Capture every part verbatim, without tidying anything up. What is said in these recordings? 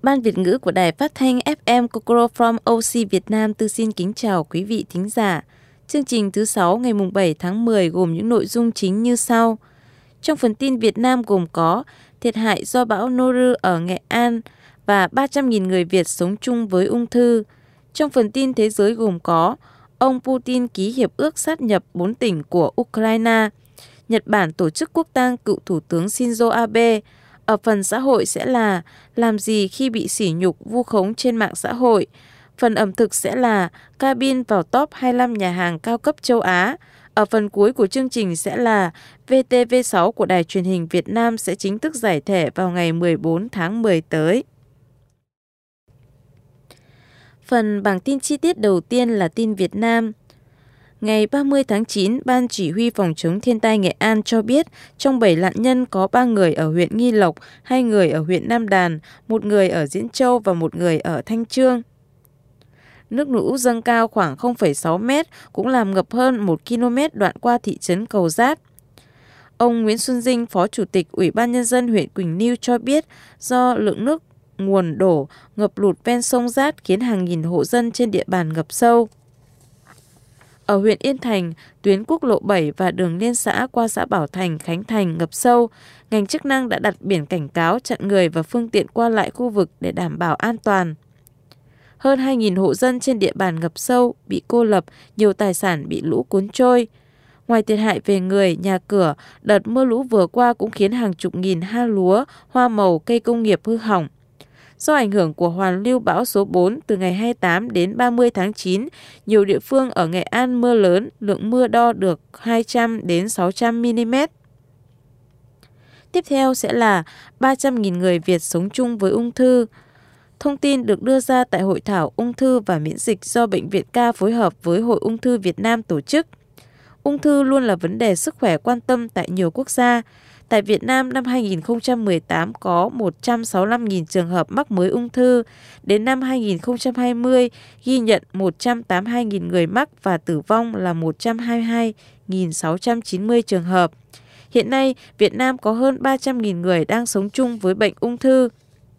Ban Việt ngữ của Đài Phát thanh ép em Kokoro from ô xê Việt Nam từ xin kính chào quý vị thính giả. Chương trình thứ sáu ngày bảy tháng mười gồm những nội dung chính như sau. Trong phần tin Việt Nam gồm có thiệt hại do bão Noru ở Nghệ An và ba trăm nghìn người Việt sống chung với ung thư. Trong phần tin thế giới gồm có ông Putin ký hiệp ước sát nhập bốn tỉnh của Ukraine. Nhật Bản tổ chức quốc tang cựu Thủ tướng Shinzo Abe. Ở phần xã hội sẽ là làm gì khi bị sỉ nhục vu khống trên mạng xã hội. Phần ẩm thực sẽ là cabin vào top hai mươi lăm nhà hàng cao cấp châu Á. Ở phần cuối của chương trình sẽ là vê tê vê sáu của Đài truyền hình Việt Nam sẽ chính thức giải thể vào ngày mười bốn tháng mười tới. Phần bảng tin chi tiết đầu tiên là tin Việt Nam. Ngày ba mươi tháng chín, Ban Chỉ huy Phòng chống thiên tai Nghệ An cho biết trong bảy nạn nhân có ba người ở huyện Nghi Lộc, hai người ở huyện Nam Đàn, một người ở Diễn Châu và một người ở Thanh Chương. Nước lũ dâng cao khoảng không phẩy sáu mét, cũng làm ngập hơn một ki lô mét đoạn qua thị trấn Cầu Giát. Ông Nguyễn Xuân Dinh, Phó Chủ tịch Ủy ban Nhân dân huyện Quỳnh Lưu cho biết do lượng nước nguồn đổ, ngập lụt ven sông Giát khiến hàng nghìn hộ dân trên địa bàn ngập sâu. Ở huyện Yên Thành, tuyến quốc lộ bảy và đường liên xã qua xã Bảo Thành, Khánh Thành ngập sâu. Ngành chức năng đã đặt biển cảnh cáo chặn người và phương tiện qua lại khu vực để đảm bảo an toàn. Hơn hai nghìn hộ dân trên địa bàn ngập sâu, bị cô lập, nhiều tài sản bị lũ cuốn trôi. Ngoài thiệt hại về người, nhà cửa, đợt mưa lũ vừa qua cũng khiến hàng chục nghìn ha lúa, hoa màu, cây công nghiệp hư hỏng. Do ảnh hưởng của hoàn lưu bão số bốn từ ngày hai mươi tám đến ba mươi tháng chín, nhiều địa phương ở Nghệ An mưa lớn, lượng mưa đo được hai trăm đến sáu trăm mi-li-mét. Tiếp theo sẽ là ba trăm nghìn người Việt sống chung với ung thư. Thông tin được đưa ra tại Hội thảo ung thư và miễn dịch do Bệnh viện Ca phối hợp với Hội ung thư Việt Nam tổ chức. Ung thư luôn là vấn đề sức khỏe quan tâm tại nhiều quốc gia. Tại Việt Nam, năm hai nghìn không trăm mười tám có một trăm sáu mươi lăm nghìn trường hợp mắc mới ung thư. Đến năm hai nghìn không trăm hai mươi, ghi nhận một trăm tám mươi hai nghìn người mắc và tử vong là một trăm hai mươi hai nghìn sáu trăm chín mươi trường hợp. Hiện nay, Việt Nam có hơn ba trăm nghìn người đang sống chung với bệnh ung thư.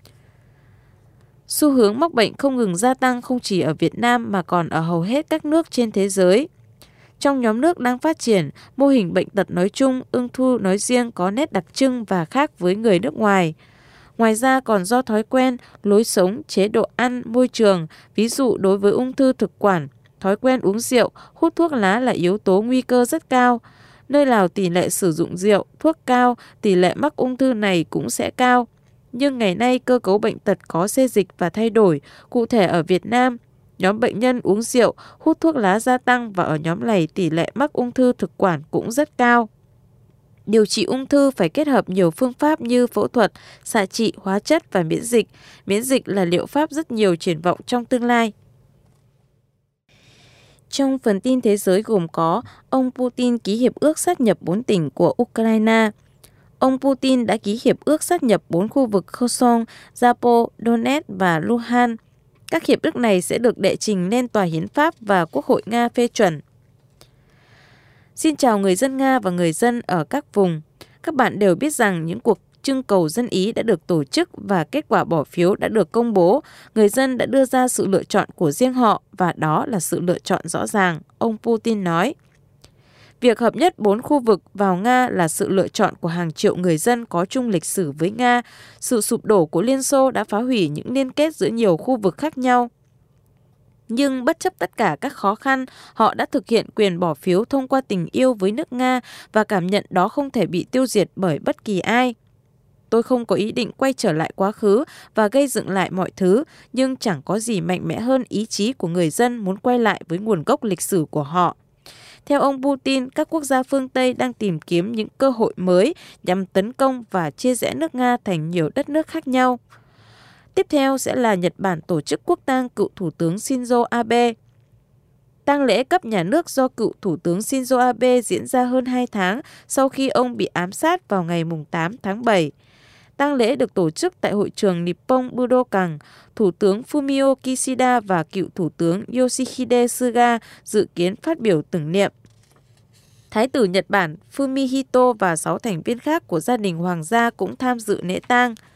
Xu hướng mắc bệnh không ngừng gia tăng không chỉ ở Việt Nam mà còn ở hầu hết các nước trên thế giới. Trong nhóm nước đang phát triển, mô hình bệnh tật nói chung, ung thư nói riêng có nét đặc trưng và khác với người nước ngoài. Ngoài ra còn do thói quen, lối sống, chế độ ăn, môi trường, ví dụ đối với ung thư thực quản, thói quen uống rượu, hút thuốc lá là yếu tố nguy cơ rất cao. Nơi nào tỷ lệ sử dụng rượu, thuốc cao, tỷ lệ mắc ung thư này cũng sẽ cao. Nhưng ngày nay cơ cấu bệnh tật có xê dịch và thay đổi, cụ thể ở Việt Nam, nhóm bệnh nhân uống rượu, hút thuốc lá gia tăng và ở nhóm này tỷ lệ mắc ung thư thực quản cũng rất cao. Điều trị ung thư phải kết hợp nhiều phương pháp như phẫu thuật, xạ trị, hóa chất và miễn dịch. Miễn dịch là liệu pháp rất nhiều triển vọng trong tương lai. Trong phần tin thế giới gồm có ông Putin ký hiệp ước sát nhập bốn tỉnh của Ukraine. Ông Putin đã ký hiệp ước sát nhập bốn khu vực Kherson, Zapo, Donetsk và Luhansk. Các hiệp ước này sẽ được đệ trình lên Tòa Hiến pháp và Quốc hội Nga phê chuẩn. Xin chào người dân Nga và người dân ở các vùng. Các bạn đều biết rằng những cuộc trưng cầu dân Ý đã được tổ chức và kết quả bỏ phiếu đã được công bố. Người dân đã đưa ra sự lựa chọn của riêng họ và đó là sự lựa chọn rõ ràng, ông Putin nói. Việc hợp nhất bốn khu vực vào Nga là sự lựa chọn của hàng triệu người dân có chung lịch sử với Nga. Sự sụp đổ của Liên Xô đã phá hủy những liên kết giữa nhiều khu vực khác nhau. Nhưng bất chấp tất cả các khó khăn, họ đã thực hiện quyền bỏ phiếu thông qua tình yêu với nước Nga và cảm nhận đó không thể bị tiêu diệt bởi bất kỳ ai. Tôi không có ý định quay trở lại quá khứ và gây dựng lại mọi thứ, nhưng chẳng có gì mạnh mẽ hơn ý chí của người dân muốn quay lại với nguồn gốc lịch sử của họ. Theo ông Putin, các quốc gia phương Tây đang tìm kiếm những cơ hội mới nhằm tấn công và chia rẽ nước Nga thành nhiều đất nước khác nhau. Tiếp theo sẽ là Nhật Bản tổ chức quốc tang cựu Thủ tướng Shinzo Abe. Tang lễ cấp nhà nước do cựu Thủ tướng Shinzo Abe diễn ra hơn hai tháng sau khi ông bị ám sát vào ngày tám tháng bảy. Tang lễ được tổ chức tại hội trường Nippon Budokan. Thủ tướng Fumio Kishida và cựu Thủ tướng Yoshihide Suga dự kiến phát biểu tưởng niệm. Thái tử Nhật Bản Fumihito và sáu thành viên khác của gia đình hoàng gia cũng tham dự lễ tang.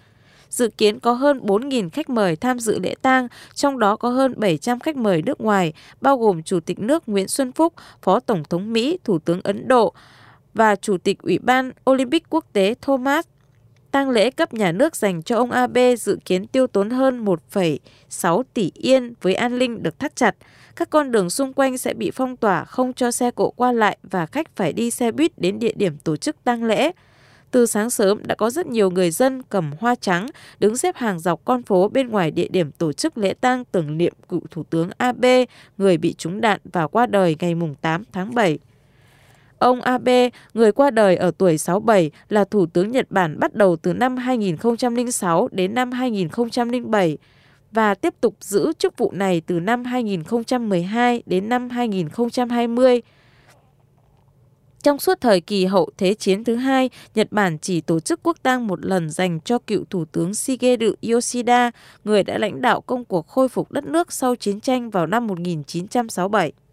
Dự kiến có hơn bốn nghìn khách mời tham dự lễ tang, trong đó có hơn bảy trăm khách mời nước ngoài, bao gồm Chủ tịch nước Nguyễn Xuân Phúc, Phó Tổng thống Mỹ, Thủ tướng Ấn Độ và Chủ tịch Ủy ban Olympic Quốc tế Thomas. Tang lễ cấp nhà nước dành cho ông Abe dự kiến tiêu tốn hơn một phẩy sáu tỷ yên với an ninh được thắt chặt. Các con đường xung quanh sẽ bị phong tỏa, không cho xe cộ qua lại và khách phải đi xe buýt đến địa điểm tổ chức tang lễ. Từ sáng sớm đã có rất nhiều người dân cầm hoa trắng đứng xếp hàng dọc con phố bên ngoài địa điểm tổ chức lễ tang tưởng niệm cựu Thủ tướng Abe, người bị trúng đạn và qua đời ngày tám tháng bảy. Ông Abe, người qua đời ở tuổi sáu mươi bảy, là Thủ tướng Nhật Bản bắt đầu từ năm hai nghìn không trăm lẻ sáu đến năm hai nghìn không trăm lẻ bảy và tiếp tục giữ chức vụ này từ năm hai nghìn không trăm mười hai đến năm hai nghìn không trăm hai mươi. Trong suốt thời kỳ hậu Thế chiến thứ hai, Nhật Bản chỉ tổ chức quốc tang một lần dành cho cựu Thủ tướng Shigeru Yoshida, người đã lãnh đạo công cuộc khôi phục đất nước sau chiến tranh vào năm một nghìn chín trăm sáu mươi bảy.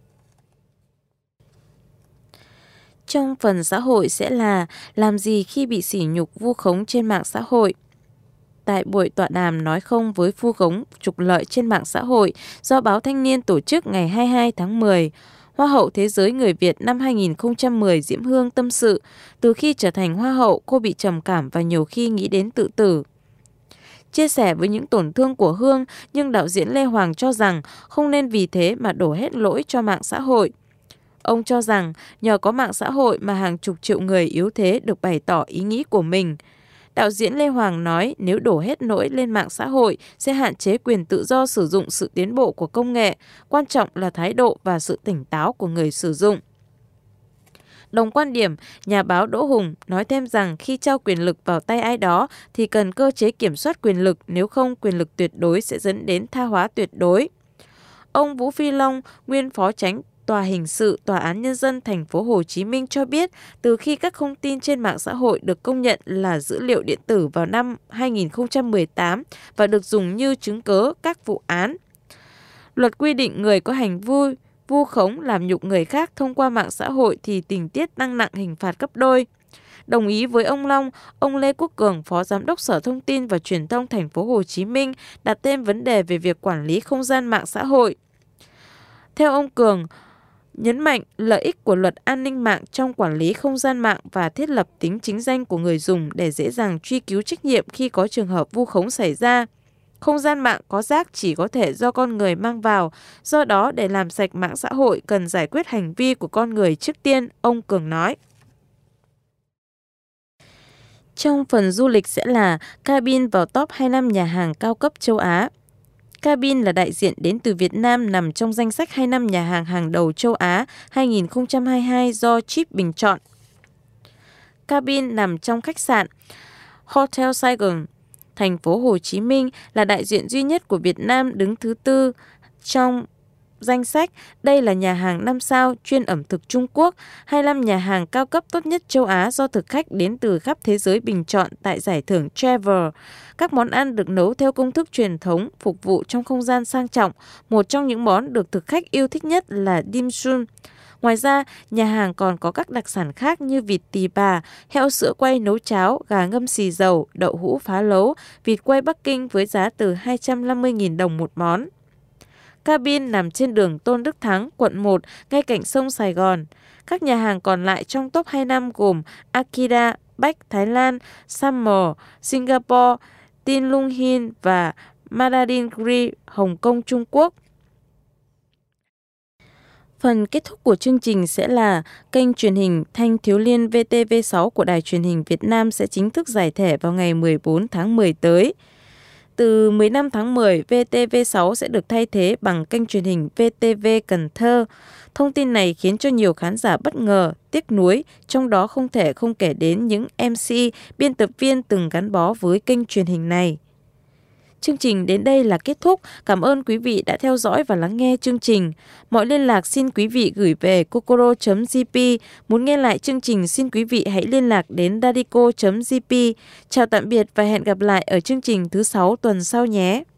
Trong phần xã hội sẽ là làm gì khi bị sỉ nhục vu khống trên mạng xã hội. Tại buổi tọa đàm nói không với vu khống trục lợi trên mạng xã hội do Báo Thanh niên tổ chức ngày hai mươi hai tháng mười, Hoa hậu Thế giới người Việt năm hai nghìn không trăm mười Diễm Hương tâm sự, từ khi trở thành Hoa hậu cô bị trầm cảm và nhiều khi nghĩ đến tự tử. Chia sẻ với những tổn thương của Hương, nhưng đạo diễn Lê Hoàng cho rằng không nên vì thế mà đổ hết lỗi cho mạng xã hội. Ông cho rằng nhờ có mạng xã hội mà hàng chục triệu người yếu thế được bày tỏ ý nghĩ của mình. Đạo diễn Lê Hoàng nói nếu đổ hết lỗi lên mạng xã hội sẽ hạn chế quyền tự do sử dụng sự tiến bộ của công nghệ, quan trọng là thái độ và sự tỉnh táo của người sử dụng. Đồng quan điểm, nhà báo Đỗ Hùng nói thêm rằng khi trao quyền lực vào tay ai đó thì cần cơ chế kiểm soát quyền lực, nếu không quyền lực tuyệt đối sẽ dẫn đến tha hóa tuyệt đối. Ông Vũ Phi Long, nguyên phó chánh Tòa hình sự Tòa án Nhân dân thành phố Hồ Chí Minh cho biết, từ khi các thông tin trên mạng xã hội được công nhận là dữ liệu điện tử vào năm hai nghìn không trăm mười tám và được dùng như chứng cớ các vụ án, luật quy định người có hành vi vu khống làm nhục người khác thông qua mạng xã hội thì tình tiết tăng nặng hình phạt gấp đôi. Đồng ý với ông Long, ông Lê Quốc Cường, Phó Giám đốc Sở Thông tin và Truyền thông thành phố Hồ Chí Minh đặt thêm vấn đề về việc quản lý không gian mạng xã hội. Theo ông Cường, nhấn mạnh lợi ích của luật an ninh mạng trong quản lý không gian mạng và thiết lập tính chính danh của người dùng để dễ dàng truy cứu trách nhiệm khi có trường hợp vu khống xảy ra. Không gian mạng có rác chỉ có thể do con người mang vào, do đó để làm sạch mạng xã hội cần giải quyết hành vi của con người trước tiên, ông Cường nói. Trong phần du lịch sẽ là Cabin vào top hai mươi lăm nhà hàng cao cấp châu Á. Cabin là đại diện đến từ Việt Nam nằm trong danh sách hai mươi lăm nhà hàng hàng đầu châu Á hai nghìn không trăm hai mươi hai do Chip bình chọn. Cabin nằm trong khách sạn Hotel Saigon, thành phố Hồ Chí Minh, là đại diện duy nhất của Việt Nam đứng thứ tư trong danh sách. Đây là nhà hàng năm sao chuyên ẩm thực Trung Quốc, hai mươi lăm nhà hàng cao cấp tốt nhất châu Á do thực khách đến từ khắp thế giới bình chọn tại giải thưởng Travel. Các món ăn được nấu theo công thức truyền thống, phục vụ trong không gian sang trọng. Một trong những món được thực khách yêu thích nhất là dim sum. Ngoài ra, nhà hàng còn có các đặc sản khác như vịt tỳ bà, heo sữa quay nấu cháo, gà ngâm xì dầu, đậu hũ phá lấu, vịt quay Bắc Kinh với giá từ hai trăm năm mươi nghìn đồng một món. Cabin nằm trên đường Tôn Đức Thắng, quận một, ngay cạnh sông Sài Gòn. Các nhà hàng còn lại trong top hai mươi lăm gồm Akira, Bách, Thái Lan, Summer, Singapore, Tin Lung Hin và Mandarin Grill, Hồng Kông, Trung Quốc. Phần kết thúc của chương trình sẽ là kênh truyền hình Thanh Thiếu Liên vê tê vê sáu của Đài Truyền hình Việt Nam sẽ chính thức giải thể vào ngày mười bốn tháng mười tới. Từ mười lăm tháng mười, vê tê vê sáu sẽ được thay thế bằng kênh truyền hình vê tê vê Cần Thơ. Thông tin này khiến cho nhiều khán giả bất ngờ, tiếc nuối, trong đó không thể không kể đến những em xê, biên tập viên từng gắn bó với kênh truyền hình này. Chương trình đến đây là kết thúc. Cảm ơn quý vị đã theo dõi và lắng nghe chương trình. Mọi liên lạc xin quý vị gửi về kokoro chấm gi pê. Muốn nghe lại chương trình xin quý vị hãy liên lạc đến dadico chấm gi pê. Chào tạm biệt và hẹn gặp lại ở chương trình thứ sáu tuần sau nhé.